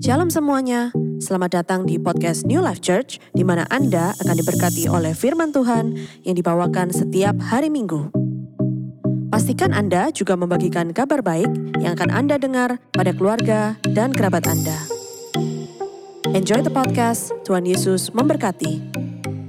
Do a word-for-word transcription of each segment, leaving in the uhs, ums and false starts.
Shalom semuanya, selamat datang di podcast New Life Church, di mana Anda akan diberkati oleh firman Tuhan yang dibawakan setiap hari Minggu. Pastikan Anda juga membagikan kabar baik yang akan Anda dengar pada keluarga dan kerabat Anda. Enjoy the podcast, Tuhan Yesus memberkati.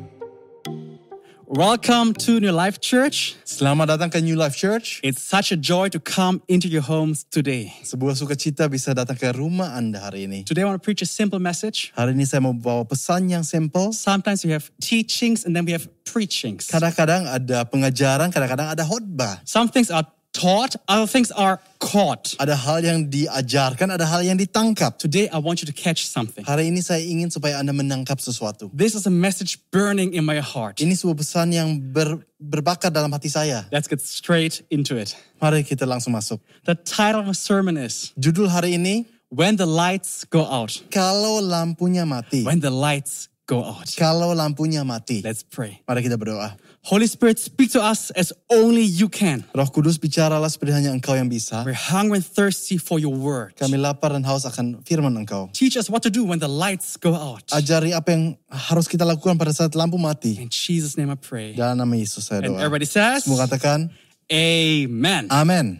Welcome to New Life Church. Selamat datang ke New Life Church. It's such a joy to come into your homes today. Sebuah sukacita bisa datang ke rumah Anda hari ini. Today I want to preach a simple message. Hari ini saya mau bawa pesan yang simple. Sometimes we have teachings and then we have preachings. Kadang-kadang ada pengajaran, kadang-kadang ada khotbah. Some things are taught, other things are caught. Ada hal yang diajarkan, ada hal yang ditangkap. Today I want you to catch something. Hari ini saya ingin supaya Anda menangkap sesuatu. This is a message burning in my heart. Ini sebuah pesan yang ber, berbakar dalam hati saya. Let's get straight into it. Mari kita langsung masuk. The title of the sermon is Judul hari ini, When the Lights Go Out. Kalau lampunya mati. When the lights go out. Kalau lampunya mati. Let's pray. Mari kita berdoa. Holy Spirit, speak to us as only you can. Roh Kudus, bicaralah seperti hanya Engkau yang bisa. We're hungry and thirsty for your word. Kami lapar dan haus akan firman Engkau. Teach us what to do when the lights go out. Ajari apa yang harus kita lakukan pada saat lampu mati. In Jesus' name I pray. Dalam nama Yesus saya And doa. everybody says, Semua katakan, Amen. Amen.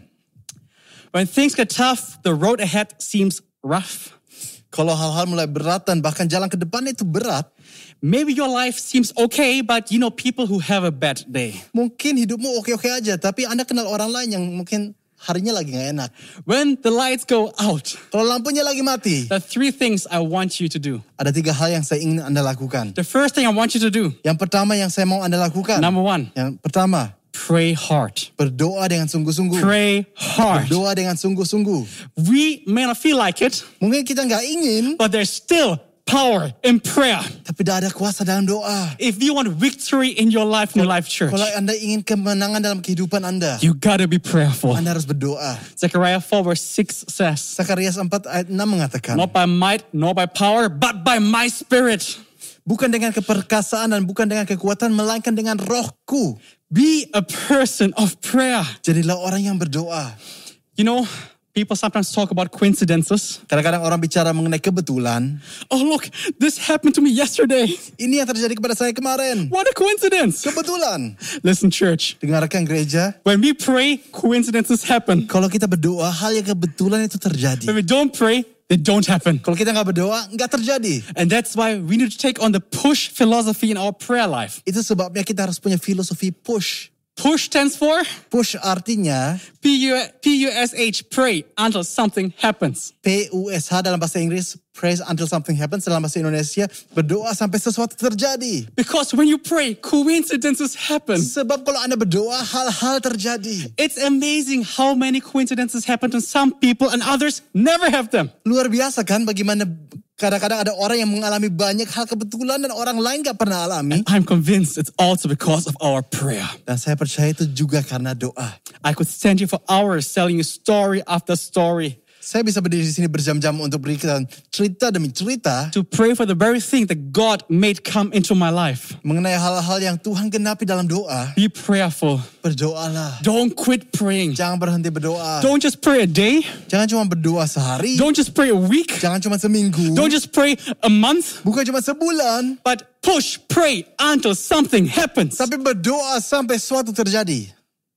When things get tough, the road ahead seems rough. Kalau hal-hal mulai berat dan bahkan jalan ke depan itu berat, Maybe your life seems okay, but you know people who have a bad day. mungkin hidupmu oke-oke aja, tapi Anda kenal orang lain yang mungkin harinya lagi gak enak. When the lights go out, Kalau lampunya lagi mati, there are three things I want you to do. ada tiga hal yang saya ingin Anda lakukan. The first thing I want you to do, Yang pertama yang saya mau Anda lakukan, number one, yang pertama, pray hard. berdoa dengan sungguh-sungguh. Pray hard. Berdoa dengan sungguh-sungguh. We may not feel like it, Mungkin kita gak ingin, but there's still power in prayer. tapi dah ada kuasa dalam doa. If you want victory in your life, New Life Church, Kalau Anda ingin kemenangan dalam kehidupan Anda, you gotta be prayerful. Anda harus berdoa. Zechariah four verse six says, Zakarias empat ayat enam mengatakan, not by might nor by power, but by my spirit. bukan dengan keperkasaan dan bukan dengan kekuatan, melainkan dengan rohku. Be a person of prayer. Jadilah orang yang berdoa. You know, people sometimes talk about coincidences. Kadang-kadang orang bicara mengenai kebetulan. Oh, look, this happened to me yesterday. Ini yang terjadi kepada saya kemarin. What a coincidence. Kebetulan. Listen, church, Dengarkan gereja. when we pray, coincidences happen. Kalau kita berdoa, hal yang kebetulan itu terjadi. When we don't pray, they don't happen. Kalau kita nggak berdoa, nggak terjadi. And that's why we need to take on the push philosophy in our prayer life. Itu sebabnya kita harus punya filosofi push. Push stands for Push artinya P U S H, pray until something happens. P U S H dalam bahasa Inggris, praise until something happens. Dalam bahasa Indonesia, berdoa sampai sesuatu terjadi. Because when you pray, coincidences happen. Sebab kalau Anda berdoa, hal-hal terjadi. It's amazing how many coincidences happen to some people and others never have them. Luar biasa kan bagaimana kadang-kadang ada orang yang mengalami banyak hal kebetulan dan orang lain gak pernah alami. I'm convinced it's also because of our prayer. Dan saya percaya itu juga karena doa. I could stand here for hours telling you story after story. Saya bisa berdiri di sini berjam-jam untuk berikan cerita demi cerita To pray for the very thing that God made come into my life. mengenai hal-hal yang Tuhan genapi dalam doa. Be prayerful. Berdoalah. Don't quit praying. Jangan berhenti berdoa. Don't just pray a day. Jangan cuma berdoa sehari. Don't just pray a week. Jangan cuma seminggu. Don't just pray a month. Bukan cuma sebulan. But push, pray until something happens. Tapi berdoa sampai sesuatu terjadi.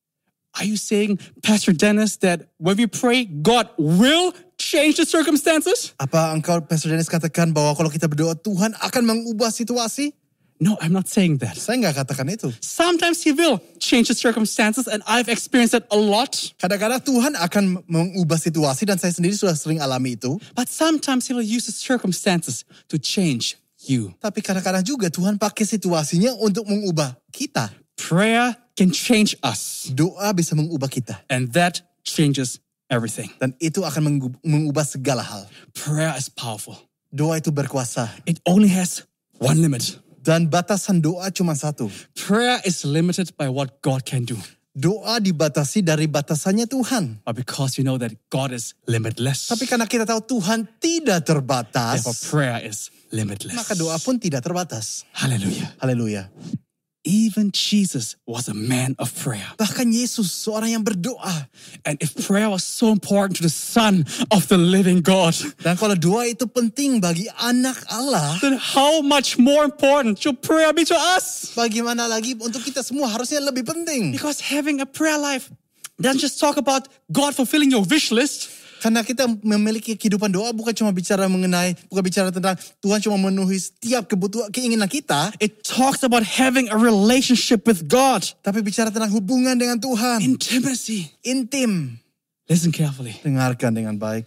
Are you saying, Pastor Dennis, that when we pray, God will change the circumstances? Apa engkau, Pastor Dennis, katakan bahwa kalau kita berdoa, Tuhan akan mengubah situasi? No, I'm not saying that. Saya nggak katakan itu. Sometimes He will change the circumstances, and I've experienced that a lot. Kadang-kadang Tuhan akan mengubah situasi dan saya sendiri sudah sering alami itu. But sometimes He will use the circumstances to change you. Tapi kadang-kadang juga Tuhan pakai situasinya untuk mengubah kita. Prayer can change us, Doa bisa mengubah kita. and that changes everything. Dan itu akan mengu- mengubah segala hal. Prayer is powerful. Doa itu berkuasa. It only has one limit. Dan batasan doa cuma satu. Prayer is limited by what God can do. Doa dibatasi dari batasannya Tuhan. But because you know that God is limitless, Tapi karena kita tahu Tuhan tidak terbatas, therefore prayer is limitless. maka doa pun tidak terbatas. Hallelujah. Haleluya. Even Jesus was a man of prayer. Bahkan Yesus seorang yang berdoa. And if prayer was so important to the Son of the living God, Dan kalau doa itu penting bagi anak Allah, then how much more important should prayer be to us? bagaimana lagi untuk kita semua harusnya lebih penting. Because having a prayer life doesn't just talk about God fulfilling your wish list. Karena kita memiliki kehidupan doa bukan cuma bicara mengenai, bukan bicara tentang Tuhan cuma memenuhi setiap kebutuhan, keinginan kita. It talks about having a relationship with God. Tapi bicara tentang hubungan dengan Tuhan. Intimacy. Intim. Listen carefully. Dengarkan dengan baik.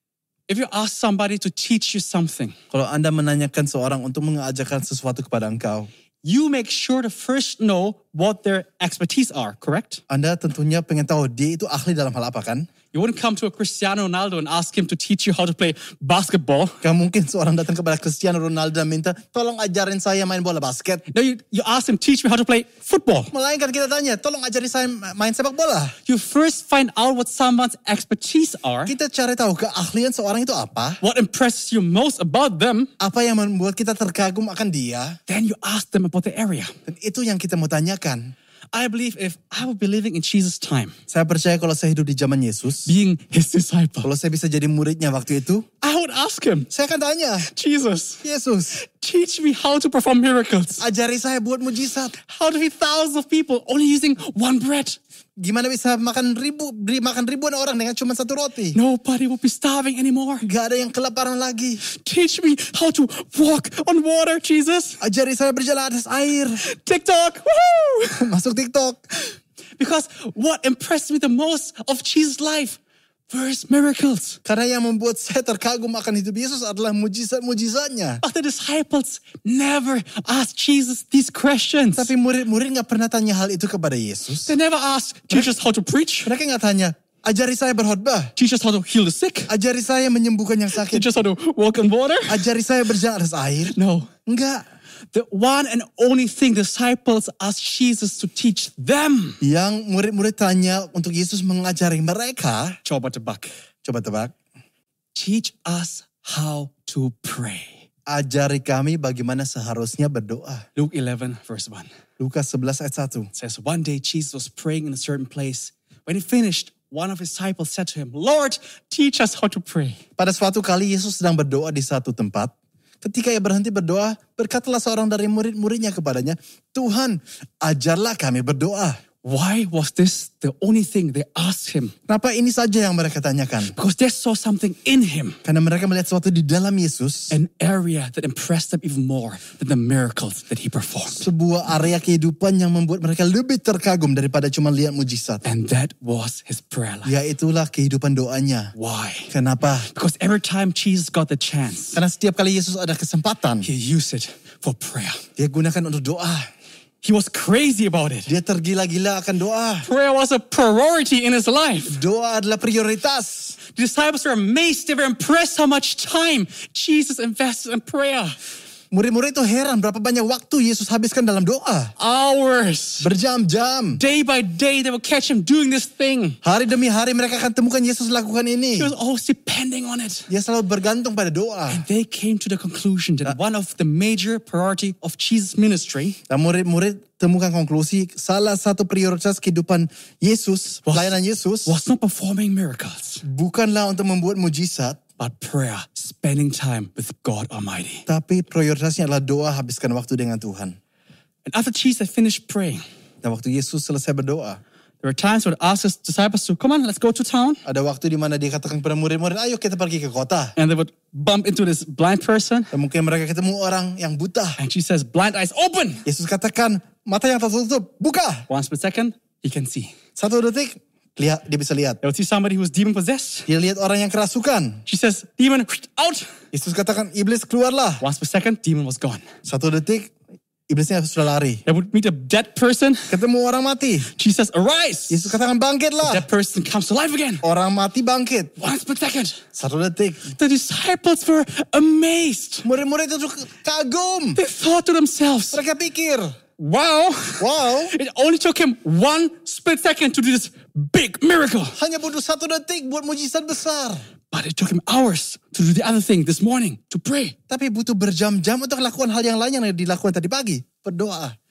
If you ask somebody to teach you something, Kalau Anda menanyakan seorang untuk mengajarkan sesuatu kepada engkau, you make sure to first know what their expertise are, correct? Anda tentunya pengen tahu dia itu ahli dalam hal apa kan? You wouldn't come to a Cristiano Ronaldo and ask him to teach you how to play basketball. Gak mungkin seorang datang kepada Cristiano Ronaldo dan minta, tolong ajarin saya main bola basket. No, you, you ask him, teach me how to play football. Melainkan kita tanya, tolong ajarin saya main sepak bola. You first find out what someone's expertise are, Kita cari tahu keahlian seorang itu apa. what impresses you most about them, Apa yang membuat kita terkagum akan dia. then you ask them about the area. Dan itu yang kita mau tanyakan. I believe if I would be living in Jesus' time, Saya percaya kalau saya hidup di zaman Yesus, being his disciple, kalau saya bisa jadi muridnya waktu itu, I would ask him, saya akan tanya, Jesus, Yesus, teach me how to perform miracles. ajari saya buat mujizat. How to feed thousands of people only using one bread. Gimana bisa makan ribu, beri makan ribuan orang dengan cuma satu roti? Nobody will be starving anymore. Gak ada yang kelaparan lagi. Teach me how to walk on water, Jesus. Ajari saya berjalan atas air. TikTok, woohoo! Masuk TikTok. Because what impressed me the most of Jesus' life were his miracles. Karena yang membuat saya terkagum akan hidup Yesus adalah mujizat-mujizatnya. But the disciples never asked Jesus these questions. Tapi murid-murid gak pernah tanya hal itu kepada Yesus. They never asked, teach us how to preach. Mereka gak tanya, ajari saya berkhotbah. Teach us how to heal the sick. Ajari saya menyembuhkan yang sakit. Teach us how to walk on water. Ajari saya berjalan atas air. No. Enggak. The one and only thing disciples asked Jesus to teach them. Yang murid-murid tanya untuk Yesus mengajari mereka. Coba tebak. Coba tebak. Teach us how to pray. Ajari kami bagaimana seharusnya berdoa. Luke eleven verse one. Lukas sebelas ayat satu. It says, one day Jesus was praying in a certain place. When he finished, one of his disciples said to him, Lord, teach us how to pray. Pada suatu kali Yesus sedang berdoa di satu tempat. Ketika ia berhenti berdoa, berkatalah seorang dari murid-muridnya kepadanya, Tuhan, ajarlah kami berdoa. Why was this the only thing they asked him? Kenapa ini saja yang mereka tanyakan? Because they saw something in him, Karena mereka melihat sesuatu di dalam Yesus. an area that impressed them even more than the miracles that he performed. Sebuah area kehidupan yang membuat mereka lebih terkagum daripada cuma lihat mujizat. And that was his prayer life. Yaitulah kehidupan doanya. Why? Kenapa? Because every time Jesus got the chance, Karena setiap kali Yesus ada kesempatan, he used it for prayer. dia gunakan untuk doa. He was crazy about it. Dia tergila-gila akan doa. Prayer was a priority in his life. Doa adalah prioritas. The disciples were amazed. They were impressed how much time Jesus invested in prayer. Murid-murid itu heran berapa banyak waktu Yesus habiskan dalam doa. Hours. Berjam-jam. Day by day, they would catch him doing this thing. Hari demi hari mereka akan temukan Yesus lakukan ini. He was always depending on it. Dia selalu bergantung pada doa. And they came to the conclusion that one of the major priority of Jesus' ministry Dan murid-murid temukan konklusi salah satu prioritas kehidupan Yesus, Was- pelayanan Yesus, was not performing miracles, bukanlah untuk membuat mujizat, but prayer, spending time with God Almighty. tapi prioritasnya adalah doa, habiskan waktu dengan Tuhan. And after Jesus had finished praying, Dan waktu Yesus selesai berdoa, there were times when he would ask his disciples to, come on, let's go to town. ada waktu di mana dia katakan kepada murid-murid, ayo kita pergi ke kota. And they would bump into this blind person. Dan mungkin mereka ketemu orang yang buta. And she says, blind eyes open. Yesus katakan, mata yang tertutup, buka. One split second, he can see. Satu detik, lihat, dia bisa lihat. They would see somebody who was demon possessed. Dia lihat orang yang kerasukan. She says, demon, out. Yesus katakan, iblis keluarlah. One split second, demon was gone. Satu detik, iblisnya sudah lari. They would meet a dead person. Ketemu orang mati. She says, arise. Yesus katakan, bangkitlah. That person comes to life again. Orang mati bangkit. One split second. Satu detik. The disciples were amazed. Murid-murid itu kagum. They thought to themselves, Mereka pikir, wow, wow, it only took him one split second to do this big miracle. hanya butuh satu detik buat mujizat besar. But it took him hours to do the other thing this morning, to pray. Tapi butuh berjam-jam untuk lakukan hal yang lain yang dilakukan tadi pagi. Berdoa.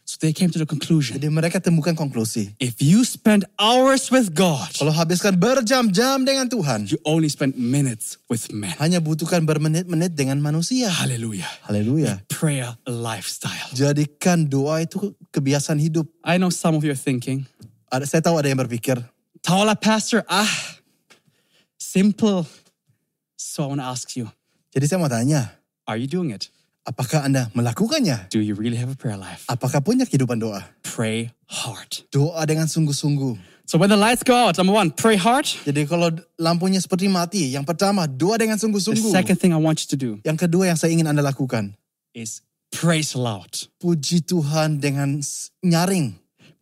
So they came to the conclusion. Jadi mereka temukan konklusi. If you spend hours with God, Kalau habiskan berjam-jam dengan Tuhan, you only spend minutes with men. hanya butuhkan bermenit-menit dengan manusia. Hallelujah. Haleluya. Prayer a lifestyle. Jadikan doa itu kebiasaan hidup. I know some of you are thinking, Ada, saya tahu ada yang berpikir, Tahu pastor, ah, simple. So I want to ask you, jadi saya mau tanya, are you doing it? apakah Anda melakukannya? Do you really have a prayer life? Apakah punya kehidupan doa? Pray hard. Doa dengan sungguh-sungguh. So when the lights go out, number one, pray hard. Jadi kalau lampunya seperti mati, yang pertama, doa dengan The sungguh-sungguh. second thing I want you to do Yang kedua yang saya ingin Anda lakukan, is praise loud. puji Tuhan dengan s- nyaring.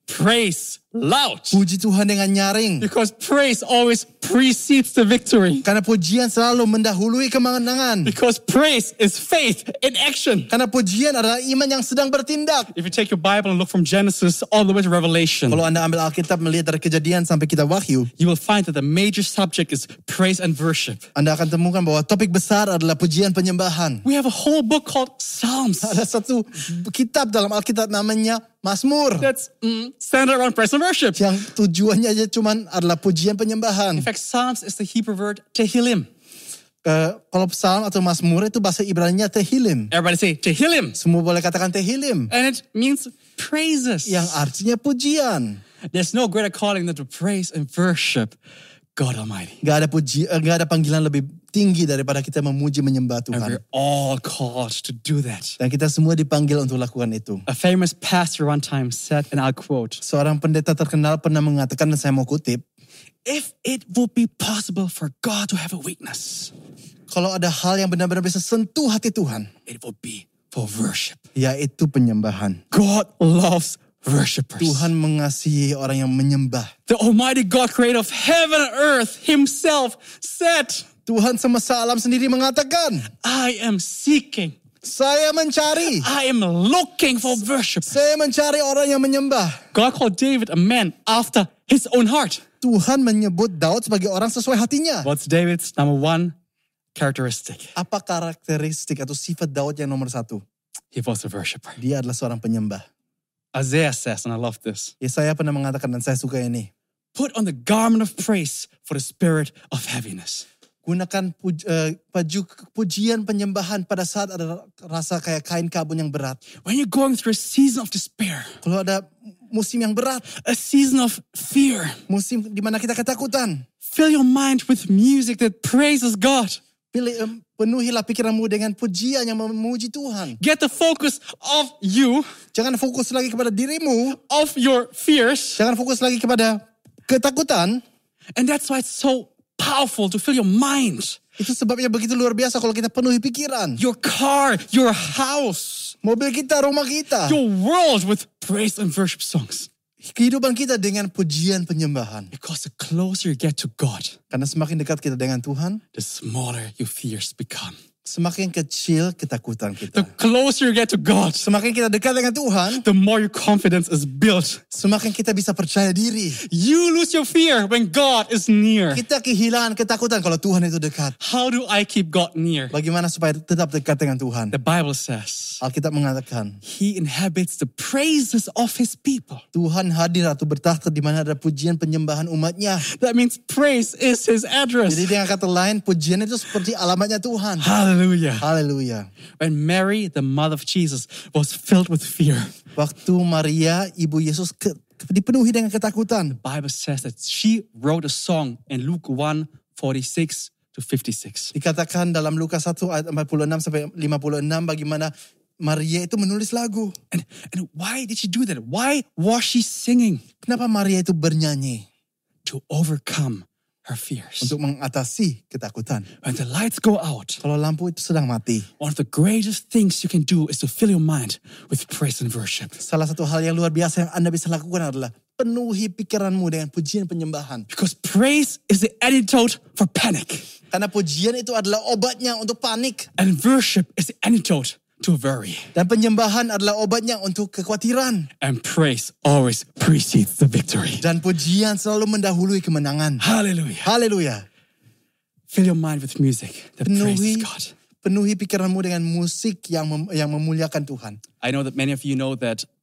Praise loud. Puji Tuhan dengan nyaring. Because praise always precedes the victory. Karena pujian selalu mendahului kemenangan. Because praise is faith in action. Karena pujian adalah iman yang sedang bertindak. If you take your Bible and look from Genesis all the way to Revelation, Kalau Anda ambil Alkitab melihat dari kejadian sampai kita Wahyu, you will find that the major subject is praise and worship. Anda akan temukan bahwa topik besar adalah pujian penyembahan. We have a whole book called Psalms Ada satu kitab dalam Alkitab namanya Mazmur. that's mm, centered around praise and worship. Yang tujuannya aja cuman adalah pujian penyembahan. In fact, Psalms is the Hebrew word Tehillim. Uh, kalau psalm atau Mazmur itu bahasa Ibraninya Tehillim. Everybody say Tehillim. Semua boleh katakan Tehillim. And it means praises. Yang artinya pujian. There's no greater calling than to praise and worship God Almighty. Gak ada puji, uh, gak ada panggilan lebih tinggi daripada kita memuji menyembah And Tuhan. we're all called to do that. Dan kita semua dipanggil untuk lakukan itu. A famous pastor one time said, and I'll quote, Seorang pendeta terkenal pernah mengatakan, dan saya mau kutip, if it would be possible for God to have a weakness, kalau ada hal yang benar-benar bisa sentuh hati Tuhan, it would be for worship. yaitu penyembahan. God loves worshipers. Tuhan mengasihi orang yang menyembah. The Almighty God, creator of heaven and earth, himself said, Tuhan semesta alam sendiri mengatakan, I am seeking, saya mencari, I am looking for worshipers. saya mencari orang yang menyembah. God called David a man after his own heart. Tuhan menyebut Daud sebagai orang sesuai hatinya. What's David's number one characteristic? Apa karakteristik atau sifat Daud yang nomor satu? He was a worshiper. Dia adalah seorang penyembah. Isaiah says, and I love this, Yesaya pernah mengatakan, dan saya suka ini, put on the garment of praise for the spirit of heaviness. gunakan puj, uh, baju pujian penyembahan pada saat ada rasa kayak kain kabun yang berat. When you're going through a season of despair, Kalau ada musim yang berat, a season of fear, musim di mana kita ketakutan, fill your mind with music that praises God. pilih, um, penuhilah pikiranmu dengan pujian yang memuji Tuhan. Get the focus of you, Jangan fokus lagi kepada dirimu, of your fears. jangan fokus lagi kepada ketakutan. And that's why it's so powerful to fill your mind, Itu sebabnya begitu luar biasa kalau kita penuhi pikiran. your car, your house, Mobil kita, rumah kita, your world with praise and worship songs. kehidupan kita dengan pujian penyembahan. Because the closer you get to God, Karena semakin dekat kita dengan Tuhan, the smaller your fears become. semakin kecil ketakutan The kita. closer you get to God, Semakin kita dekat dengan Tuhan, the more your confidence is built. semakin kita bisa percaya diri. You lose your fear when God is near. Kita kehilangan ketakutan kalau Tuhan itu dekat. How do I keep God near? Bagaimana supaya tetap dekat dengan Tuhan? The Bible says, Alkitab mengatakan, He inhabits the praises of His people. Tuhan hadir atau bertakhta di mana ada pujian penyembahan umatnya. That means praise is His address. Jadi dengan kata lain, pujian itu seperti alamatnya Tuhan. Hallelujah. Haleluya. When Mary, the mother of Jesus, was filled with fear, Waktu Maria, ibu Yesus, ke, dipenuhi dengan ketakutan. the Bible says that she wrote a song in Luke one, forty-six to fifty-six. Dikatakan dalam Lukas satu ayat empat puluh enam sampai lima puluh enam bagaimana Maria itu menulis lagu. And, and why did she do that? Why was she singing? Kenapa Maria itu bernyanyi? To overcome her fears. Untuk mengatasi ketakutan. When the lights go out, Kalau lampu itu sedang mati, one of the greatest things you can do is to fill your mind with praise and worship. salah satu hal yang luar biasa yang Anda bisa lakukan adalah penuhi pikiranmu dengan pujian penyembahan. Because praise is the antidote for panic. Karena pujian itu adalah obatnya untuk panik. And worship is the antidote to worry. Dan penyembahan adalah obatnya untuk kekhawatiran. And praise always precedes the victory. Dan pujian selalu mendahului kemenangan. Hallelujah. Haleluya. Fill your mind with music that praises Penuhi, God. penuhi pikiranmu dengan musik yang mem, yang memuliakan Tuhan. I know that many of you know that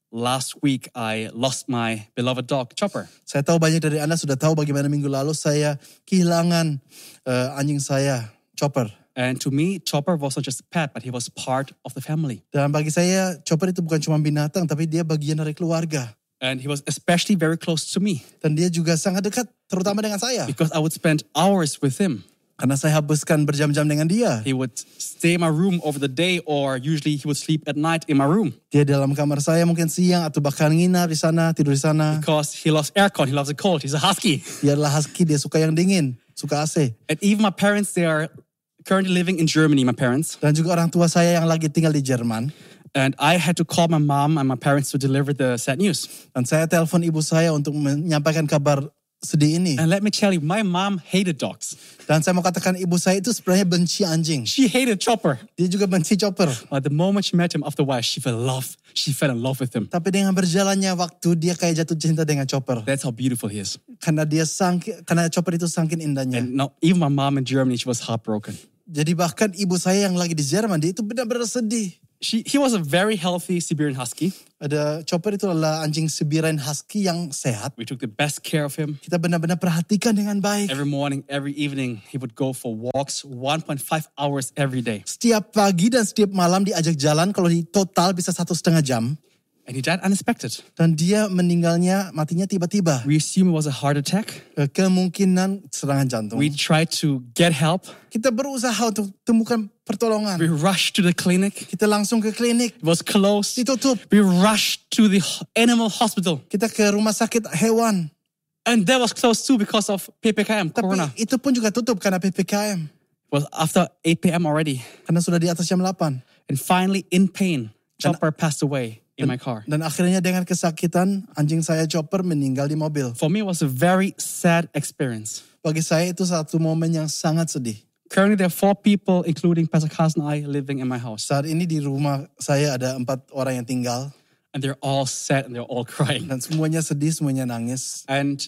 last week I lost my beloved dog, Chopper. Saya tahu banyak dari Anda sudah tahu bagaimana minggu lalu saya kehilangan uh, anjing saya, Chopper. And to me, Chopper wasn't just a pet, but he was part of the family. Dan bagi saya, Chopper itu bukan cuma binatang, tapi dia bagian dari keluarga. And he was especially very close to me. Dan dia juga sangat dekat, terutama dengan saya. Because I would spend hours with him. Karena saya habiskan berjam-jam dengan dia. He would stay in my room over the day, or usually he would sleep at night in my room. Dia dalam kamar saya mungkin siang atau bahkan nginap di sana, tidur di sana. Because he loves aircon, he loves it cold. He's a husky. Dia adalah husky, dia suka yang dingin, suka A C. And even my parents, they are currently living in Germany, my parents. Dan juga orang tua saya yang lagi tinggal di Jerman. And I had to call my mom and my parents to deliver the sad news. Dan saya telepon ibu saya untuk menyampaikan kabar sedih ini. And let me tell you, my mom hated dogs. Dan saya mau katakan ibu saya itu sebenarnya benci anjing. She hated Chopper. Dia juga benci Chopper. But the moment she met him, after a while, she fell in love. She fell in love with him. Tapi dengan berjalannya waktu, dia kayak jatuh cinta dengan Chopper. That's how beautiful he is. Karena dia sangki, karena Chopper itu sangkin indahnya. And now, even my mom in Germany, she was heartbroken. Jadi bahkan ibu saya yang lagi di Jerman, dia itu benar-benar sedih. She, he was a very healthy Siberian Husky. Ada Chopper itu adalah anjing Siberian Husky yang sehat. We took the best care of him. Kita benar-benar perhatikan dengan baik. Every morning, every evening, he would go for walks one point five hours every day. Setiap pagi dan setiap malam diajak jalan, kalau di total bisa satu setengah jam. And he died unexpected. Dan dia meninggalnya, matinya tiba-tiba. We assume it was a heart attack. Kemungkinan serangan jantung. We tried to get help. Kita berusaha untuk temukan pertolongan. We rushed to the clinic. Kita langsung ke klinik. It was closed. Ditutup. We rushed to the animal hospital. Kita ke rumah sakit hewan. And that was closed too because of P P K M, Tapi Corona. itu pun juga tutup karena P P K M. It was after eight p.m. already. Karena sudah di atas jam delapan. And finally, in pain, Chopper passed away in my car. Dan akhirnya dengan kesakitan, anjing saya Chopper meninggal di mobil. For me, it was a very sad experience. Bagi saya itu satu momen yang sangat sedih. Currently, there are four people, including Pastor Carson and I, living in my house. Saat ini di rumah saya ada empat orang yang tinggal. And they're all sad and they're all crying. Dan semuanya sedih, semuanya nangis. And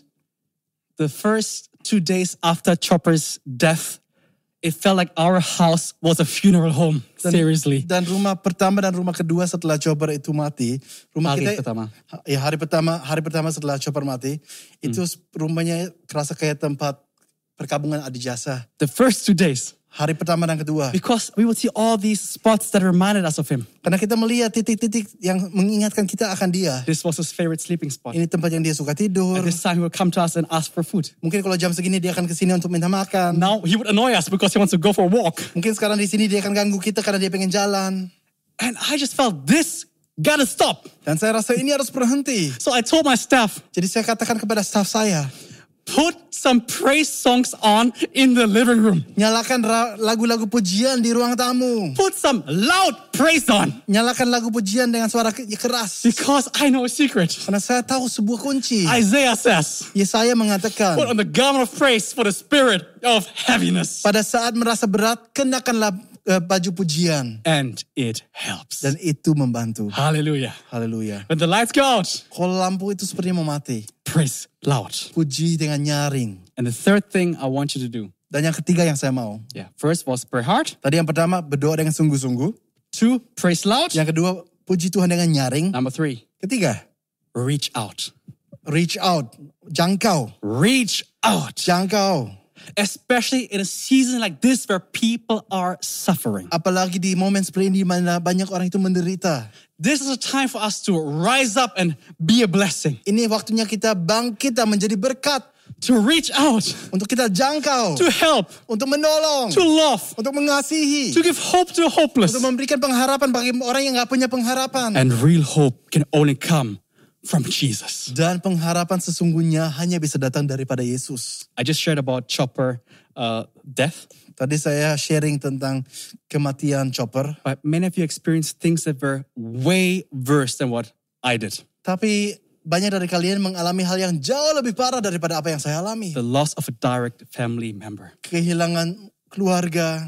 the first two days after Chopper's death, it felt like our house was a funeral home. Dan, Seriously. Dan rumah pertama dan rumah kedua setelah Chopper itu mati, rumah Hari kita pertama. ya hari pertama hari pertama setelah Chopper mati, itu rumahnya kerasa kayak tempat perkabungan adijasa. The first two days. Hari pertama dan kedua. Because we would see all these spots that reminded us of him. Karena kita melihat titik-titik yang mengingatkan kita akan dia. This was his favorite sleeping spot. Ini tempat yang dia suka tidur. At this time, he would come to us and ask for food. Mungkin kalau jam segini dia akan kesini untuk minta makan. Now, he would annoy us because he wants to go for a walk. Mungkin sekarang di sini dia akan ganggu kita karena dia pengen jalan. And I just felt this gotta stop. Dan saya rasa ini harus berhenti. So I told my staff, Jadi saya katakan kepada staf saya, put some praise songs on in the living room. nyalakan ra- lagu-lagu pujian di ruang tamu. Put some loud praise on. Nyalakan lagu pujian dengan suara ke- keras. Because I know a secret. Karena saya tahu sebuah kunci. Isaiah says, Yesaya mengatakan, put on the garment of praise for the spirit of heaviness. pada saat merasa berat, kenakanlah uh, baju pujian. And it helps. Dan itu membantu. Hallelujah. Haleluya. When the lights go out, Kalau lampu itu sepertinya mau mati, praise loud. puji dengan nyaring. And the third thing I want you to do. Dan yang ketiga yang saya mau. Yeah. First was pray hard. Tadi yang pertama berdoa dengan sungguh-sungguh. Two, praise loud. Yang kedua puji Tuhan dengan nyaring. Number three, Ketiga, reach out. reach out. Jangkau. Reach out. Jangkau. Especially in a season like this where people are suffering. Apalagi di momen seperti ini di mana banyak orang itu menderita. This is a time for us to rise up and be a blessing. Ini waktunya kita bangkit dan menjadi berkat. To reach out. Untuk kita jangkau. To help. Untuk menolong. To love. Untuk mengasihi. To give hope to the hopeless. Untuk memberikan pengharapan bagi orang yang gak punya pengharapan. And real hope can only come from Jesus. Dan pengharapan sesungguhnya hanya bisa datang daripada Yesus. I just shared about Chopper uh, death. Tadi saya sharing tentang kematian Chopper. But many of you experienced things that were way worse than what I did. Tapi banyak dari kalian mengalami hal yang jauh lebih parah daripada apa yang saya alami. The loss of a direct family member. Kehilangan keluarga.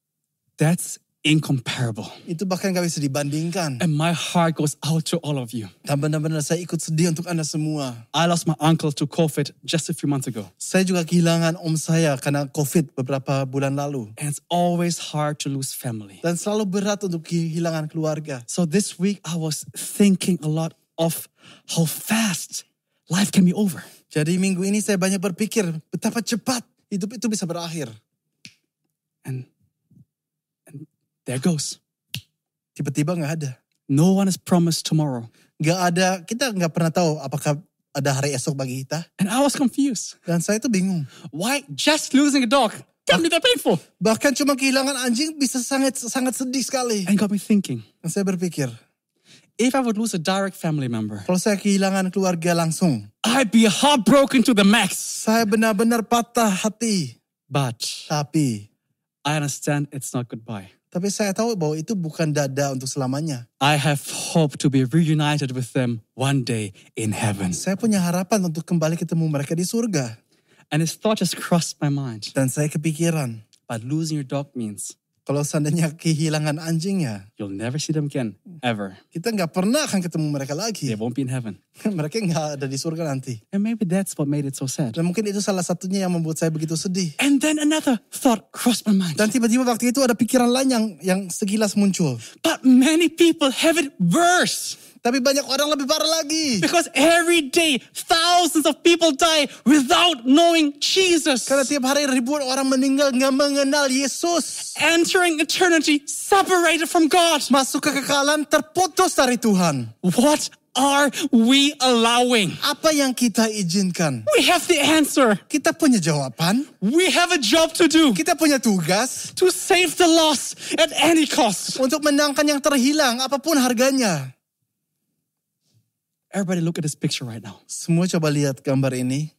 That's incomparable. Itu bahkan gak bisa dibandingkan. And my heart goes out to all of you. Dan benar-benar saya ikut sedih untuk Anda semua. I lost my uncle to COVID just a few months ago. Saya juga kehilangan om saya karena COVID beberapa bulan lalu. And it's always hard to lose family. Dan selalu berat untuk kehilangan keluarga. So this week I was thinking a lot of how fast life can be over. Jadi minggu ini saya banyak berpikir betapa cepat hidup itu bisa berakhir. And, and there goes. Tiba-tiba gak ada. No one is promised tomorrow. Gak ada, kita gak pernah tahu apakah ada hari esok bagi kita. And I was confused. Dan saya tuh bingung. Why just losing a dog can be that painful? Bahkan cuma kehilangan anjing bisa sangat sangat sedih sekali. And got me thinking, Dan saya berpikir, if I would lose a direct family member, kalau saya kehilangan keluarga langsung, I'd be heartbroken to the max. saya benar-benar patah hati. But Tapi, I understand it's not goodbye. tapi saya tahu bahwa itu bukan dada untuk selamanya. I have hope to be reunited with them one day in heaven. Saya punya harapan untuk kembali ketemu mereka di surga. And this thought just crossed my mind. Dan saya kepikiran, But losing your dog means kalau seandainya kehilangan anjingnya, you'll never see them again, ever. kita nggak pernah akan ketemu mereka They lagi. won't be in heaven. Mereka nggak ada di surga nanti. And maybe that's what made it so sad. Dan mungkin itu salah satunya yang membuat saya begitu sedih. And then another thought crossed my mind. Dan tiba-tiba waktu itu ada pikiran lain yang yang sekilas muncul. But many people have it worse. Tapi banyak orang lebih parah lagi. Because every day, thousands of people die without knowing Jesus. Karena tiap hari ribuan orang meninggal nggak mengenal Yesus. Entering eternity separated from God. Masuk ke kekekalan terputus dari Tuhan. What are we allowing? Apa yang kita izinkan? We have the answer. Kita punya jawaban. We have a job to do. Kita punya tugas To save the lost at any cost. untuk menangkan yang terhilang apapun harganya. Everybody look at this picture right now. Semua coba lihat gambar ini.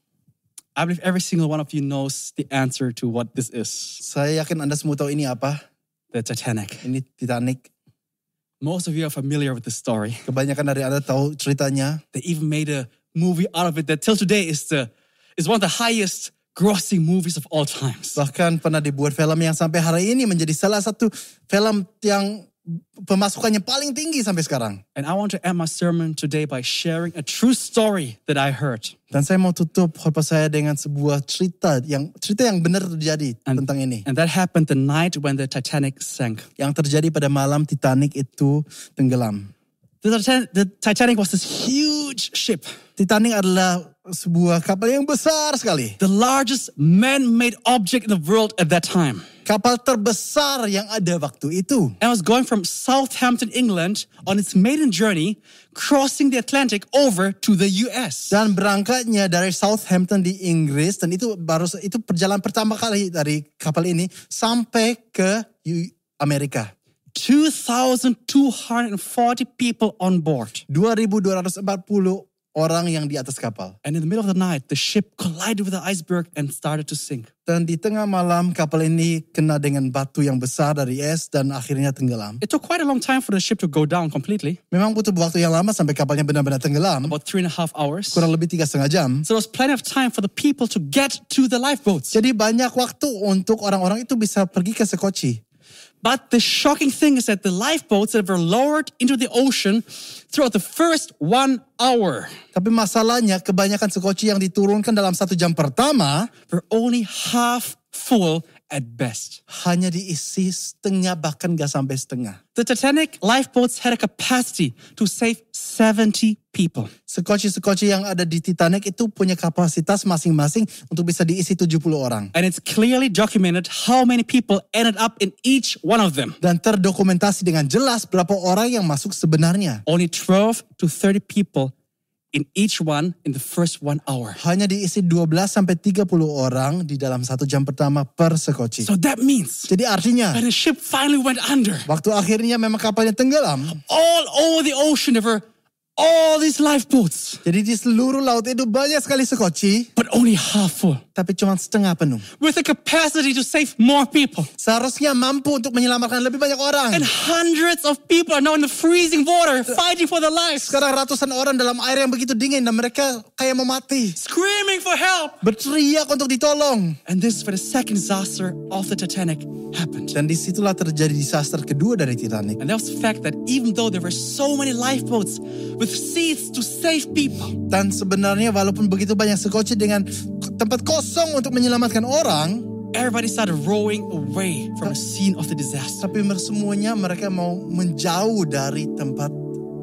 I believe every single one of you knows the answer to what this is. Saya yakin Anda semua tahu ini apa. The Titanic. Ini Titanic. Most of you are familiar with the story. Kebanyakan dari Anda tahu ceritanya. They even made a movie out of it that till today is the is one of the highest grossing movies of all times. Bahkan pernah dibuat film yang sampai hari ini menjadi salah satu film yang pemasukannya paling tinggi sampai sekarang. And I want to end my sermon today by sharing a true story that I heard. Dan saya mau tutup khotbah saya dengan sebuah cerita yang cerita yang benar terjadi And, tentang ini. and that happened the night when the Titanic sank. Yang terjadi pada malam Titanic itu tenggelam. The, Titan- the Titanic was this huge ship. Titanic adalah sebuah kapal yang besar sekali. The largest man-made object in the world at that time. Kapal terbesar yang ada waktu itu. And was going from Southampton, England on its maiden journey, crossing the Atlantic over to the U S. Dan berangkatnya dari Southampton di Inggris. Dan itu baru itu perjalanan pertama kali dari kapal ini sampai ke Amerika. two thousand two hundred forty people on board. dua ribu dua ratus empat puluh orang yang di atas kapal. And in the middle of the night, the ship collided with the iceberg and started to sink. Dan di tengah malam kapal ini kena dengan batu yang besar dari es dan akhirnya tenggelam. It took quite a long time for the ship to go down completely, Memang butuh waktu yang lama sampai kapalnya benar-benar tenggelam. about three and a half hours. Kurang lebih tiga setengah jam. So there was plenty of time for the people to get to the lifeboats. Jadi banyak waktu untuk orang-orang itu bisa pergi ke Sekoci. But the shocking thing is that the lifeboats that were lowered into the ocean throughout the first one hour Tapi masalahnya kebanyakan Sekoci yang diturunkan dalam satu jam pertama were only half full at best. hanya diisi setengah bahkan gak sampai setengah. The Titanic lifeboats had a capacity to save seventy people. Sekoci-sekoci yang ada di Titanic itu punya kapasitas masing-masing untuk bisa diisi tujuh puluh orang. And it's clearly documented how many people ended up in each one of them. Dan terdokumentasi dengan jelas berapa orang yang masuk sebenarnya. Only twelve to thirty people in each one in the first one hour. Hanya diisi dua belas sampai tiga puluh orang di dalam satu jam pertama per Sekoci. So that means Jadi artinya when the ship finally went under, waktu akhirnya memang kapalnya tenggelam. all over the ocean there were all these lifeboats, Jadi di seluruh laut itu banyak sekali Sekoci. but only half full, Tapi cuma setengah penuh. with the capacity to save more people. Seharusnya mampu untuk menyelamatkan lebih banyak orang. And hundreds of people are now in the freezing water fighting for their lives, Sekarang ratusan orang dalam air yang begitu dingin dan mereka kayak mau mati. screaming for help. Berteriak untuk ditolong. And this is where the second disaster of the Titanic happened. Dan disitulah terjadi disaster kedua dari Titanic. And that was the fact that even though there were so many lifeboats with seats to save people, Dan sebenarnya walaupun begitu banyak Sekoci dengan tempat kosong untuk menyelamatkan orang, everybody started rowing away from the scene of the disaster. tapi semuanya mereka mau menjauh dari tempat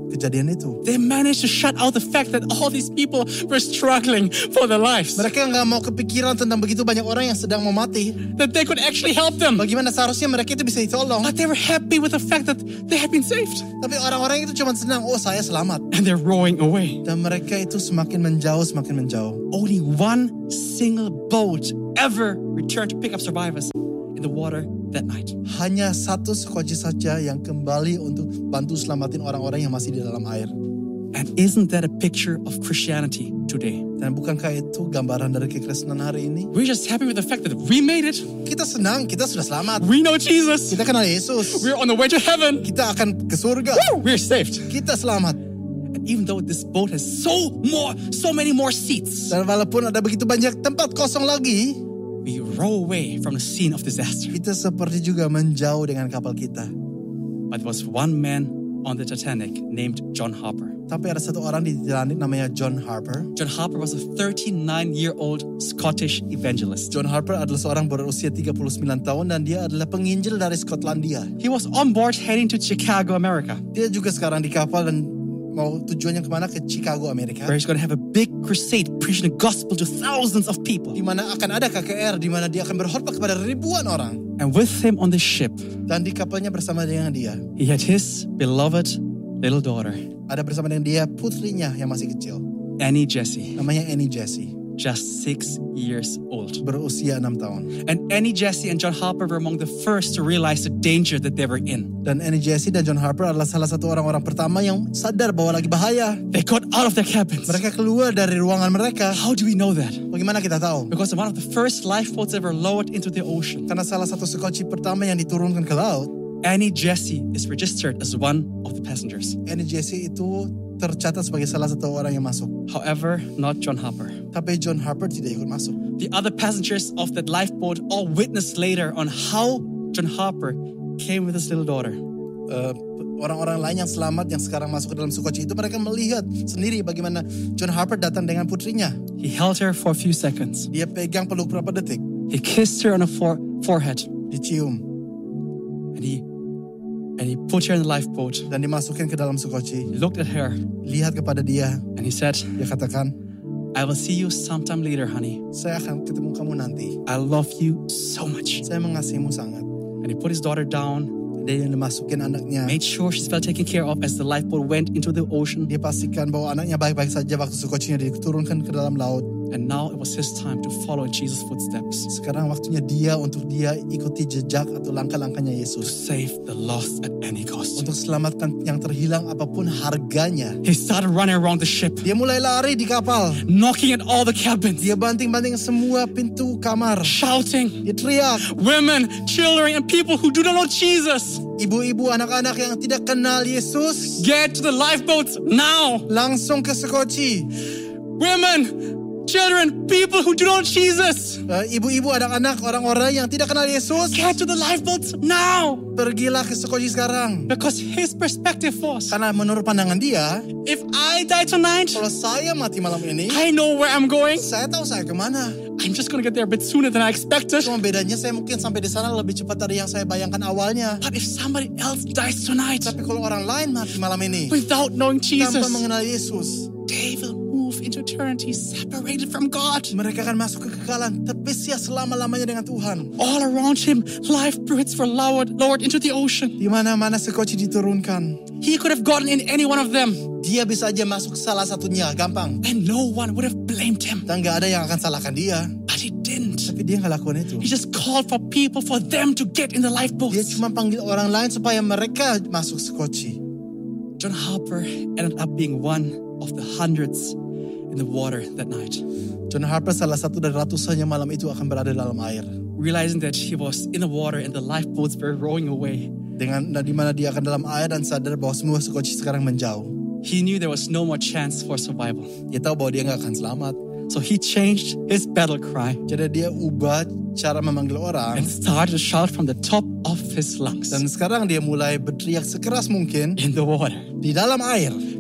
kejadian itu. They managed to shut out the fact that all these people were struggling for their lives. Mereka nggak mau kepikiran tentang begitu banyak orang yang sedang mau mati. That they could actually help them. Bagaimana seharusnya mereka itu bisa ditolong. But they were happy with the fact that they had been saved. Tapi orang-orang itu cuma senang, oh saya selamat. And they're rowing away. Dan mereka itu semakin menjauh, semakin menjauh. Only one single boat ever returned to pick up survivors in the water that night. Hanya satu sekoci saja yang kembali untuk bantu selamatin orang-orang yang masih di dalam air. And isn't that a picture of Christianity today? Dan bukankah itu gambaran dari kekristenan hari ini? We're just happy with the fact that we made it. Kita senang, kita sudah selamat. We know Jesus. Kita kenal Yesus. We're on the way to heaven. Kita akan ke surga. We're saved. Kita selamat. And even though this boat has so more, so many more seats, Dan walaupun ada begitu banyak tempat kosong lagi, we row away from the scene of disaster. kita seperti juga menjauh dengan kapal kita. But there was one man on the Titanic named John Harper. Tapi ada satu orang di Titanic namanya John Harper. John Harper was a thirty-nine-year-old Scottish evangelist. John Harper adalah seorang berusia tiga puluh sembilan tahun dan dia adalah penginjil dari Skotlandia. He was on board heading to Chicago, America, Dia juga sekarang di kapal dan mau tujuannya kemana? Ke Chicago, Amerika. where he's going to have a big crusade preaching the gospel to thousands of people. Di mana akan ada K K R, di mana dia akan berkhotbah kepada ribuan orang. And with him on the ship, Dan di kapalnya bersama dengan dia, he had his beloved little daughter, ada bersama dengan dia putrinya yang masih kecil. Annie Jessie, Namanya Annie Jessie, just six years old. berusia enam tahun. And Annie Jessie and John Harper were among the first to realize the danger that they were in. Dan Annie Jessie dan John Harper adalah salah satu orang-orang pertama yang sadar bahwa lagi bahaya. They got out of their cabins. Mereka keluar dari ruangan mereka. How do we know that? Bagaimana kita tahu? Because one of the first lifeboats ever lowered into the ocean. Karena salah satu sekoci pertama yang diturunkan ke laut, Annie Jessie is registered as one of the passengers. Annie Jessie itu tercatat sebagai salah satu orang yang masuk. However, not John Harper. Tapi John Harper tidak ikut masuk. The other passengers of that lifeboat all witnessed later on how John Harper came with his little daughter. Uh, orang-orang lain yang selamat yang sekarang masuk ke dalam sekoci itu, mereka melihat sendiri bagaimana John Harper datang dengan putrinya. He held her for a few seconds. Dia pegang peluk berapa detik, He kissed her on the fore- forehead. dicium, And he and he put her in the lifeboat. dan dimasukin ke dalam sekoci. He looked at her Lihat kepada dia, and he said, dia katakan, I will see you sometime later, honey. saya akan ketemu kamu nanti. I love you so much. Saya mengasihimu sangat. And he put his daughter down, Dia yang dimasukin anaknya. made sure she's well taken care of as the lifeboat went into the ocean. Dia pastikan bahwa anaknya baik-baik saja waktu sekocinya diturunkan ke dalam laut. And now it was his time to follow in Jesus' footsteps, Sekarang waktunya dia untuk dia ikuti jejak atau langkah-langkahnya to Yesus. save the lost at any cost. Untuk selamatkan yang terhilang apapun harganya. He started running around the ship, Dia mulai lari di kapal. knocking at all the cabins, Dia banting-banting semua pintu kamar. shouting, Dia teriak. women, children, and people who do not know Jesus, Ibu-ibu, anak-anak yang tidak kenal Yesus, get to the lifeboats now. langsung ke sekoci. Women, children, people who do not know Jesus, Uh, ibu-ibu, anak-anak, orang-orang yang tidak kenal Yesus, get to the lifeboats now. pergilah ke sekoci sekarang. Because his perspective was, Karena menurut pandangan dia, if I die tonight, kalau saya mati malam ini, I know where I'm going. saya tahu saya kemana. I'm just gonna get there a bit sooner than I expected. Cuma bedanya saya mungkin sampai di sana lebih cepat dari yang saya bayangkan awalnya. But if somebody else dies tonight Tapi kalau orang lain mati malam ini, without knowing tanpa Jesus, mengenal Yesus, they will move into eternity separated from God. mereka akan masuk ke kekekalan, terpisah selama-lamanya dengan Tuhan. All around him, lifeboats were lowered, lowered into the ocean. Di mana-mana sekoci diturunkan, He could have gotten in any one of them, dia bisa aja masuk salah satunya, gampang. and no one would have blamed him. Dan gak ada yang akan salahkan dia. But he didn't. Tapi dia gak lakukan itu. He just called for people for them to get in the Dia lifeboats. cuma panggil orang lain supaya mereka masuk sekoci. John Harper ended up being one of the hundreds in the water that night, John Harper salah satu dari ratusannya malam itu akan berada dalam air. realizing that he was in the water and the lifeboats were rowing away. Dengan di mana dia akan dalam air dan sadar bahwa semua sekoci sekarang menjauh. He knew there was no more chance for survival. Dia tahu bahwa dia gak akan selamat. So he changed his battle cry Jadi dia ubah cara memanggil orang. and started to shout from the top of his lungs Dan sekarang dia mulai berteriak sekeras mungkin in the water. di dalam air.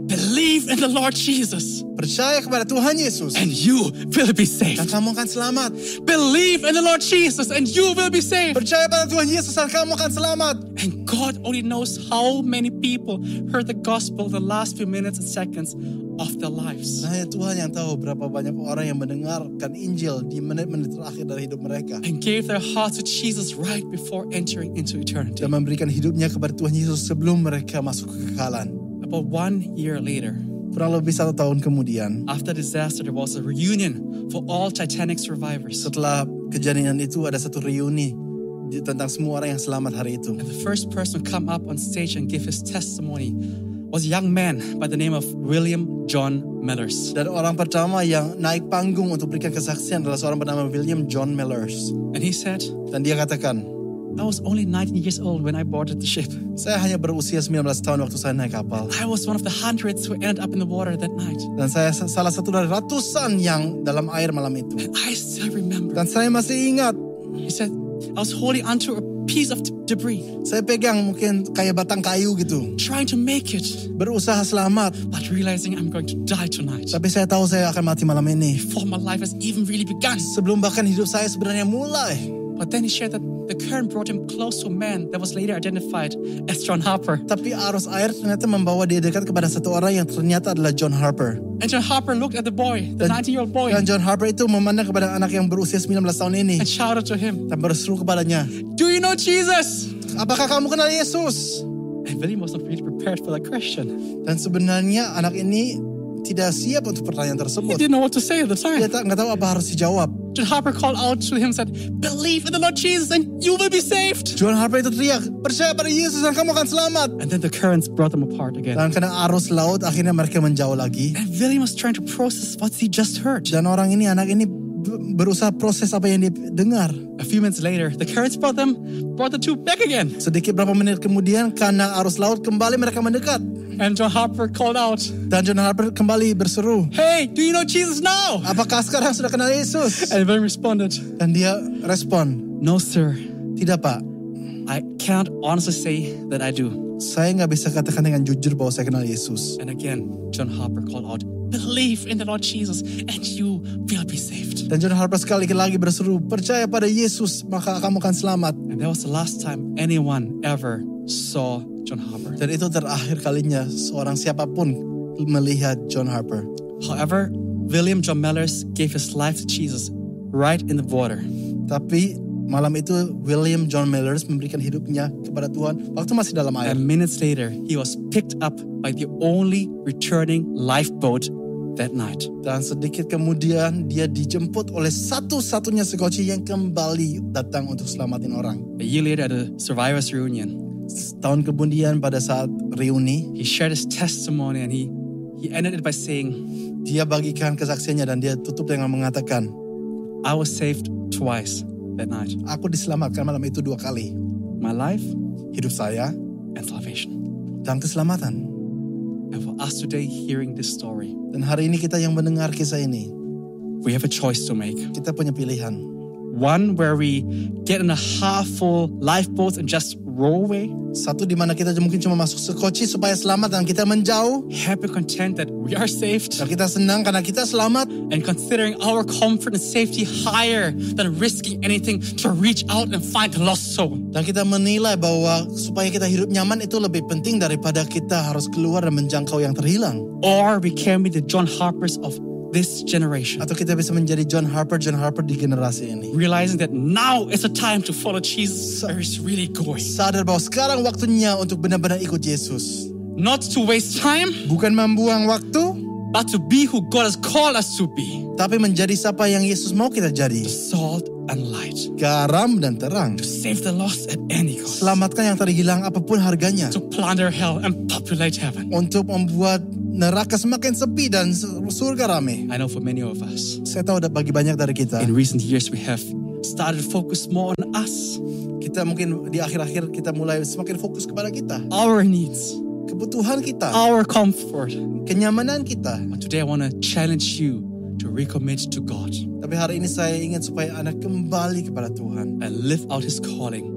Believe in the Lord Jesus. Percaya kepada Tuhan Yesus. And you will be saved. Dan kamu akan selamat. Believe in the Lord Jesus and you will be saved. Percaya pada Tuhan Yesus dan kamu akan selamat. And God only knows how many people heard the gospel the last few minutes and seconds of their lives. Nah, ya Tuhan yang tahu berapa banyak orang yang mendengarkan Injil di menit-menit terakhir dari hidup mereka. And gave their hearts to Jesus right before entering into eternity. Dan memberikan hidupnya kepada Tuhan Yesus sebelum mereka masuk ke kekekalan. About one year later, Kurang lebih satu tahun kemudian, after disaster, there was a reunion for all Titanic survivors. setelah kejadian itu ada satu reuni di- tentang semua orang yang selamat hari itu. And the first person to come up on stage and give his testimony was a young man by the name of William John Mellers. Dan orang pertama yang naik panggung untuk berikan kesaksian adalah seorang bernama William John Mellers. And he said, Dan dia katakan, I was only nineteen years old when I boarded the ship. saya hanya berusia sembilan belas tahun waktu saya naik kapal. I was one of the hundreds who ended up in the water that night. Dan saya salah satu dari ratusan yang dalam air malam itu. And I still remember. Dan saya masih ingat, He said, I was holding onto a piece of d- debris, saya pegang mungkin kayak batang kayu gitu. trying to make it, Berusaha selamat. but realizing I'm going to die tonight. Tapi saya tahu saya akan mati malam ini. Before my life has even really begun. Sebelum bahkan hidup saya sebenarnya mulai. But then he shared that the current brought him close to a man that was later identified as John Harper. Tapi arus air ternyata membawa dia dekat kepada satu orang yang ternyata adalah John Harper. And John Harper looked at the boy, the Dan- nineteen-year-old boy, Dan John Harper itu memandang kepada anak yang berusia sembilan belas tahun ini. and shouted to him, Dan berseru kepadanya, do you know Jesus? apakah kamu kenal Yesus? And William was not really prepared for that question. Dan sebenarnya anak ini tidak siap untuk pertanyaan He tersebut. didn't know what to say at the time. Dia tak, nggak tahu apa harus dijawab. John Harper called out to him and said, believe in the Lord Jesus and you will be saved. John Harper itu teriak, percaya pada Yesus dan kamu akan selamat. And then the currents brought them apart again. Dan karena arus laut akhirnya mereka menjauh lagi. And William was trying to process what he just heard. Dan orang ini, anak ini b- berusaha proses apa yang dia dengar. A few minutes later, the currents brought them, brought the two back again. Sedikit berapa menit kemudian karena arus laut kembali mereka mendekat. And John Harper called out, Dan John Harper kembali berseru, hey, do you know Jesus now? apakah sekarang sudah kenal Yesus? And William responded, Dan dia respon, no sir, tidak pak, I can't honestly say that I do. saya nggak bisa katakan dengan jujur bahwa saya kenal Yesus. And again, John Harper called out, believe in the Lord Jesus and you will be saved. Dan John Harper sekali lagi berseru, percaya pada Yesus maka kamu akan selamat. And that was the last time anyone ever saw John Harper. Dan itu terakhir kalinya seorang siapapun melihat John Harper. However, William John Mellers gave his life to Jesus right in the water. Tapi malam itu William John Mellers memberikan hidupnya kepada Tuhan waktu masih dalam air. And minutes later, he was picked up by the only returning lifeboat that night. Dan sedikit kemudian dia dijemput oleh satu-satunya sekoci yang kembali datang untuk selamatin orang. A year later at a survivors reunion, Tahun kemudian pada saat reuni, he shared his testimony and he, he ended it by saying, dia bagikan kesaksiannya dan dia tutup dengan mengatakan, I was saved twice that night. aku diselamatkan malam itu dua kali. My life Hidup saya and salvation. dan keselamatan. And for us today hearing this story, Dan hari ini kita yang mendengar kisah ini, we have a choice to make. kita punya pilihan. One where we get in a half full lifeboat and just row away. Satu di mana kita mungkin cuma masuk sekoci supaya selamat dan kita menjauh. Happy and content that we are saved. Dan kita senang karena kita selamat. And considering our comfort and safety higher than risking anything to reach out and find the lost soul. Dan kita menilai bahwa supaya kita hidup nyaman itu lebih penting daripada kita harus keluar dan menjangkau yang terhilang. Or we can be the John Harpers of this generation. Atau kita bisa menjadi John Harper, John Harper di generasi ini. Realizing that now is the time to follow Jesus where he's really going. Sadar bahwa sekarang waktunya untuk benar-benar ikut Yesus. Not to waste time, Bukan membuang waktu, but to be who God has called us to be. tapi menjadi siapa yang Yesus mau kita jadi. Salt and light. Garam dan terang. Save the lost at any cost. Selamatkan yang terhilang apapun harganya. To plunder hell and populate heaven. Untuk membuat neraka semakin sepi dan surga rame. I know for many of us, Saya tahu ada bagi banyak dari kita. in recent years we have started to focus more on us, Kita mungkin di akhir-akhir kita mulai semakin fokus kepada kita. our needs, Kebutuhan kita. our comfort. Kenyamanan kita. But today I want to challenge you to recommit to God Tapi hari ini saya ingin supaya Anda kembali kepada Tuhan. and live out His calling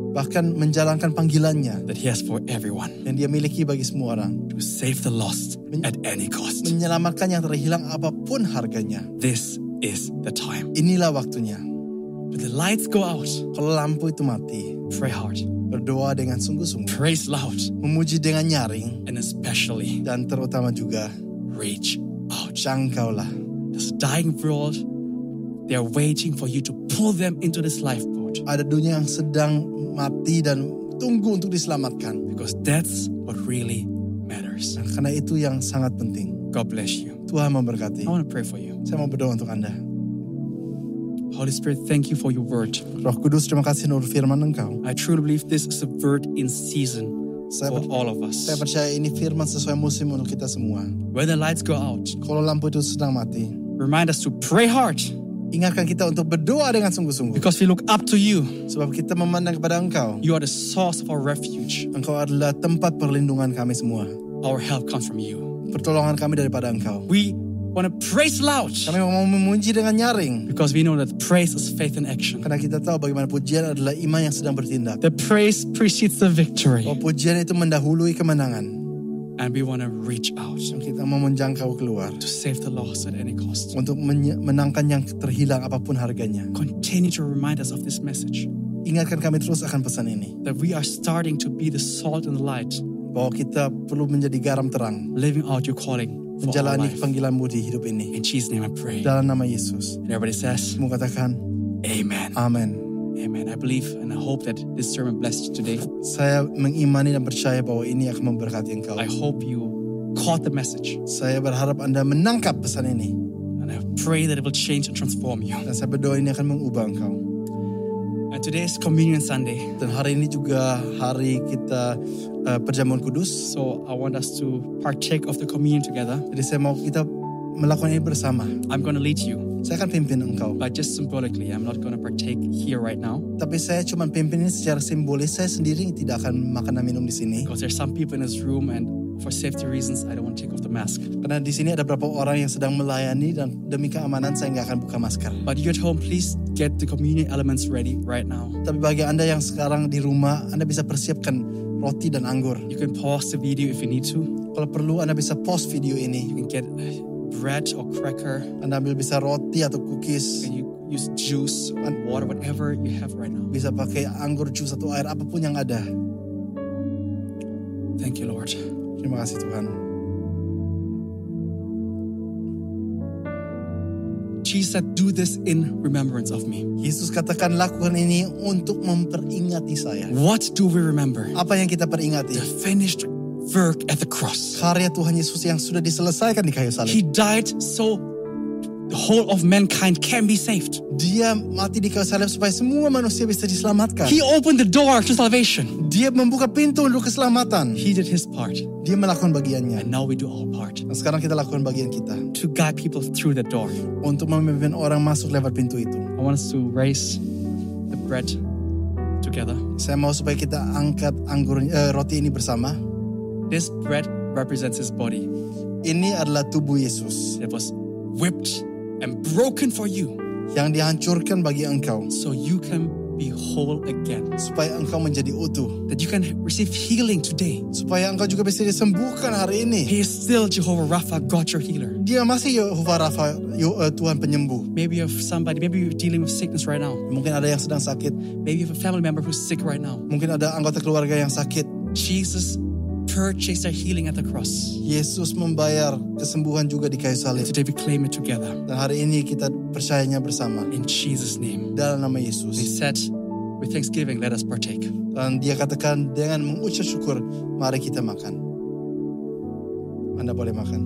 bahkan menjalankan panggilannya that He has for everyone. yang Dia miliki bagi semua orang. To save the lost at any cost. Menyelamatkan yang terhilang apapun harganya. This is the time. Inilah waktunya. When the lights go out, Kalau lampu itu mati, pray hard, berdoa dengan sungguh-sungguh, praise loud, memuji dengan nyaring, and especially dan terutama juga reach out. jangkaulah. This dying world, they are waiting for you to pull them into this lifeboat. Ada dunia yang sedang mati dan tunggu untuk diselamatkan. Because that's what really matters. Nah, karena itu yang sangat penting. God bless you. Tuhan memberkati. I want to pray for you. Saya mau berdoa untuk Anda. Holy Spirit, thank you for your word. Roh Kudus, terima kasih menurut firman Engkau. I truly believe this is a word in season Saya, for per- all of us. saya percaya ini firman sesuai musim untuk kita semua. When the lights go out, Kalau lampu itu sedang mati, remind us to pray hard ingatkan kita untuk berdoa dengan sungguh-sungguh. because we look up to you. Sebab kita memandang kepada Engkau. You are the source of our refuge. Engkau adalah tempat perlindungan kami semua. Our help comes from you. Pertolongan kami daripada Engkau. We want to praise loud Kami mau memuji dengan nyaring. because we know that praise is faith in action. Karena kita tahu bagaimana pujian adalah iman yang sedang bertindak. The praise precedes the victory. Bahwa pujian itu mendahului kemenangan. And we want to reach out Dan kita mau menjangkau keluar. to save the lost at any cost. Untuk menye- menangkan yang terhilang apapun harganya. Continue to remind us of this message, Ingatkan kami terus akan pesan ini. that we are starting to be the salt and the light, Bahwa kita perlu menjadi garam terang. living out your calling for our Menjalani life. panggilanmu di hidup ini. In Jesus' name I pray. Dalam nama Yesus. And everybody says, Semua katakan, Amen. Amin. Amen. I believe and I hope that this sermon blessed you today. Saya mengimani dan percaya bahwa ini akan memberkati engkau. I hope you caught the message. Saya berharap Anda menangkap pesan ini. And I pray that it will change and transform you. Dan saya berdoa ini akan mengubah engkau. And today is Communion Sunday. Dan hari ini juga hari kita uh, perjamuan kudus. So I want us to partake of the communion together. Jadi saya mau kita melakukan ini bersama. I'm going to lead you, Saya akan pimpin engkau. but just symbolically. I'm not going to partake here right now Tapi saya cuma pimpin ini secara simbolis. Saya sendiri tidak akan makan dan minum di sini. because there's some people in this room, and for safety reasons, I don't want to take off the mask. Karena di sini ada beberapa orang yang sedang melayani dan demi keamanan saya nggak akan buka masker. But you at home, please get the communion elements ready right now. Tapi bagi Anda yang sekarang di rumah, Anda bisa persiapkan roti dan anggur. You can pause the video if you need to. Kalau perlu, Anda bisa pause video ini. You can get bread or cracker, Anda ambil bisa roti atau cookies. and you use juice or water, whatever you have right now. Bisa pakai anggur, jus atau air, apapun yang ada. Thank you, Lord. Terima kasih Tuhan. Jesus said, do this in remembrance of me. Yesus katakan lakukan ini untuk memperingati saya. What do we remember? Apa yang kita The peringati? finished work at the cross. Karya Tuhan Yesus yang sudah diselesaikan di kayu He salib. died so the whole of mankind can be saved. Dia mati di kayu salib supaya semua manusia bisa diselamatkan. He opened the door to salvation. Dia membuka pintu untuk keselamatan. He did his part. Dia melakukan bagiannya. And now we do our part Dan sekarang kita lakukan bagian kita. to guide people through the door. Untuk memimpin orang masuk lewat pintu itu. I want us to raise the bread together. Saya mau supaya kita angkat anggur eh, roti ini bersama. This bread represents his body Ini adalah tubuh Yesus that was whipped and broken for you yang dihancurkan bagi engkau so you can be whole again. supaya engkau menjadi utuh, That you can receive healing today. supaya engkau juga bisa disembuhkan hari ini. He is still Jehovah Rapha, God your healer. Dia masih Yehovah Rafa, Yo- eh, Tuhan penyembuh. Maybe you have somebody, maybe you're dealing with sickness right now. Mungkin ada yang sedang sakit, Maybe you have a family member who's sick right now. mungkin ada anggota keluarga yang sakit. Jesus purchased their healing at the cross. Yesus membayar kesembuhan juga di kayu salib. Today we claim it together Dan hari ini kita percayanya bersama in Jesus' name. dalam nama He Yesus. said, with thanksgiving, let us partake. Dan dia katakan dengan mengucap syukur, mari kita makan. Anda boleh makan.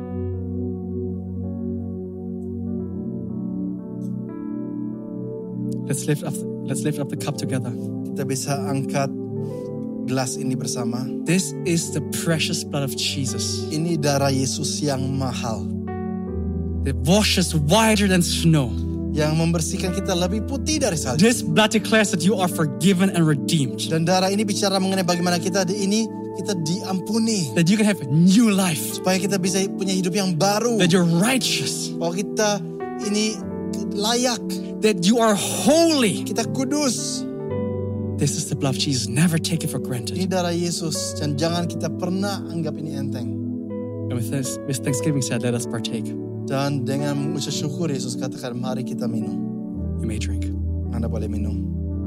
Let's lift up, let's lift up the cup together. Kita bisa angkat gelas ini bersama. This is the precious blood of Jesus. Ini darah Yesus yang mahal, It washes whiter than snow. yang membersihkan kita lebih putih dari salju. This blood declares that you are forgiven and redeemed. Dan darah ini bicara mengenai bagaimana kita di ini kita diampuni, That you can have new life. supaya kita bisa punya hidup yang baru. That you're righteous. Bahwa kita ini layak, That you are holy. kita kudus. This is the blood of Jesus. Never take it for granted. Ini darah Yesus dan jangan kita pernah anggap ini enteng. And with this, with thanksgiving said, let us partake. Dan dengan mengucap syukur Yesus katakan mari kita minum. You may drink. Anda boleh minum.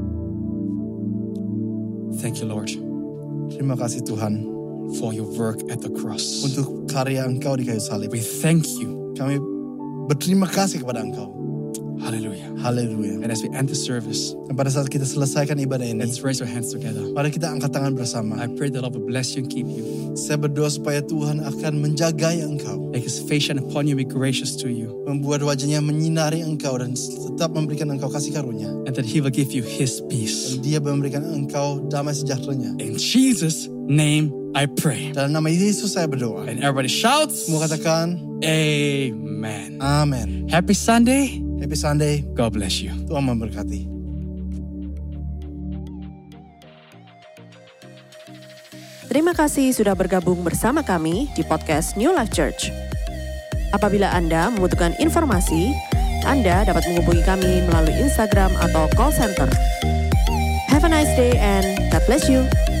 Thank you, Lord, Terima kasih Tuhan for your work at the cross. untuk karya Engkau di kayu salib. We thank you. Kami berterima kasih kepada Engkau. Hallelujah. Haleluya. And as we end the service, Dan pada saat kita selesaikan ibadah ini, let's raise our hands together. mari kita angkat tangan bersama. I pray the Lord will bless you and keep you. Saya berdoa supaya Tuhan akan menjagai Engkau. Make his face shine upon you and be gracious to you. Membuat wajahnya menyinari Engkau dan tetap memberikan Engkau kasih karunia. And that he will give you his peace. Dan dia memberikan Engkau damai sejahteranya. In Jesus' name I pray. Dalam nama Yesus saya berdoa. And everybody shouts, Semua katakan, Amen. Amin. Happy Sunday. Happy Sunday. God bless you. Tuhan memberkati. Terima kasih sudah bergabung bersama kami di podcast New Life Church. Apabila Anda membutuhkan informasi, Anda dapat menghubungi kami melalui Instagram atau call center. Have a nice day and God bless you.